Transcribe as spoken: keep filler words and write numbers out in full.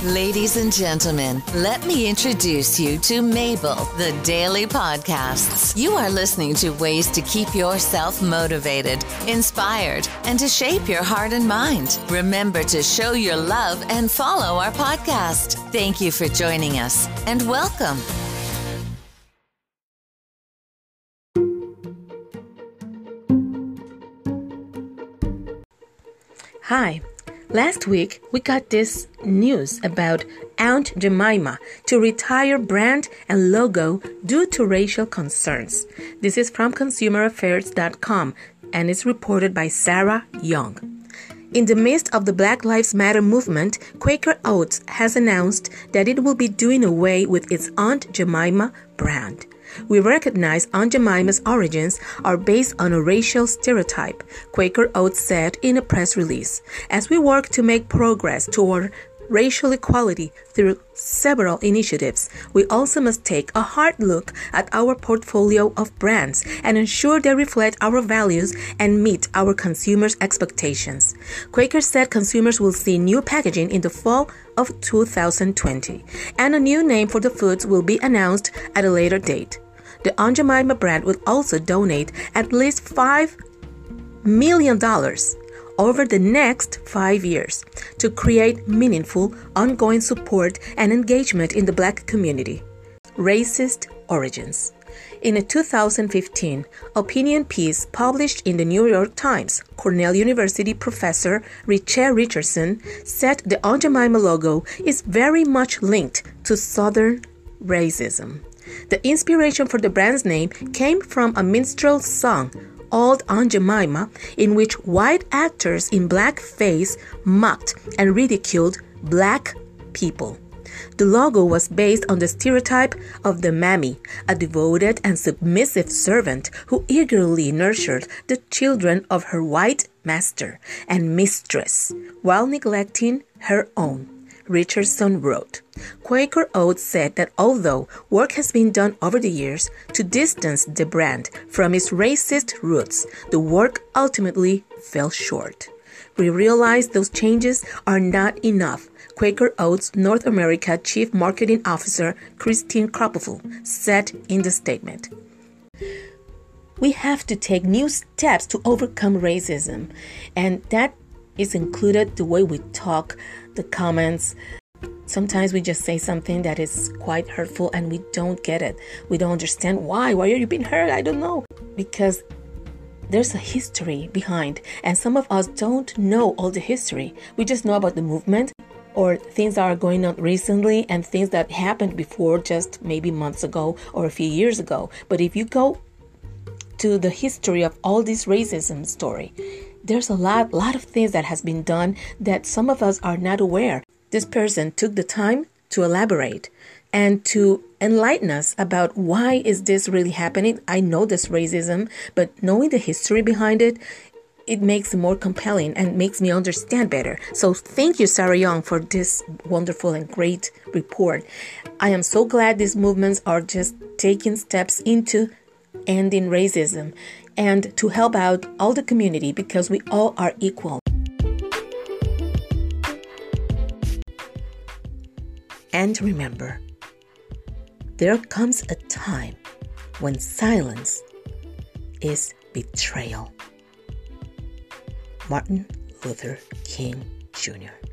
Ladies and gentlemen, let me introduce you to Mabel, the Daily Podcasts. You are listening to ways to keep yourself motivated, inspired, and to shape your heart and mind. Remember to show your love and follow our podcast. Thank you for joining us, and welcome. Hi. Last week, we got this news about Aunt Jemima to retire brand and logo due to racial concerns. This is from consumer affairs dot com and is reported by Sarah Young. In the midst of the Black Lives Matter movement, Quaker Oats has announced that it will be doing away with its Aunt Jemima brand. We recognize Aunt Jemima's origins are based on a racial stereotype, Quaker Oats said in a press release. As we work to make progress toward racial equality through several initiatives, we also must take a hard look at our portfolio of brands and ensure they reflect our values and meet our consumers' expectations. Quaker said consumers will see new packaging in the fall of two thousand twenty, and a new name for the foods will be announced at a later date. The Aunt Jemima brand will also donate at least five million dollars over the next five years to create meaningful, ongoing support and engagement in the Black community. Racist origins. In a two thousand fifteen opinion piece published in the New York Times, Cornell University professor Richelle Richardson said the Aunt Jemima logo is very much linked to Southern racism. The inspiration for the brand's name came from a minstrel song, Old Aunt Jemima, in which white actors in blackface mocked and ridiculed Black people. The logo was based on the stereotype of the mammy, a devoted and submissive servant who eagerly nurtured the children of her white master and mistress while neglecting her own. Richardson wrote. Quaker Oats said that although work has been done over the years to distance the brand from its racist roots, the work ultimately fell short. We realize those changes are not enough, Quaker Oats North America Chief Marketing Officer Christine Kroppel said in the statement. We have to take new steps to overcome racism, and that is included the way we talk, the comments. Sometimes we just say something that is quite hurtful and we don't get it. We don't understand why. Why are you being hurt? I don't know. Because there's a history behind, and some of us don't know all the history. We just know about the movement or things that are going on recently and things that happened before, just maybe months ago or a few years ago. But if you go to the history of all this racism story, there's a lot, lot of things that has been done that some of us are not aware. This person took the time to elaborate and to enlighten us about why is this really happening. I know this racism, but knowing the history behind it, it makes it more compelling and makes me understand better. So thank you, Sarah Young, for this wonderful and great report. I am so glad these movements are just taking steps into ending racism and to help out all the community because we all are equal. And remember, there comes a time when silence is betrayal. Martin Luther King Junior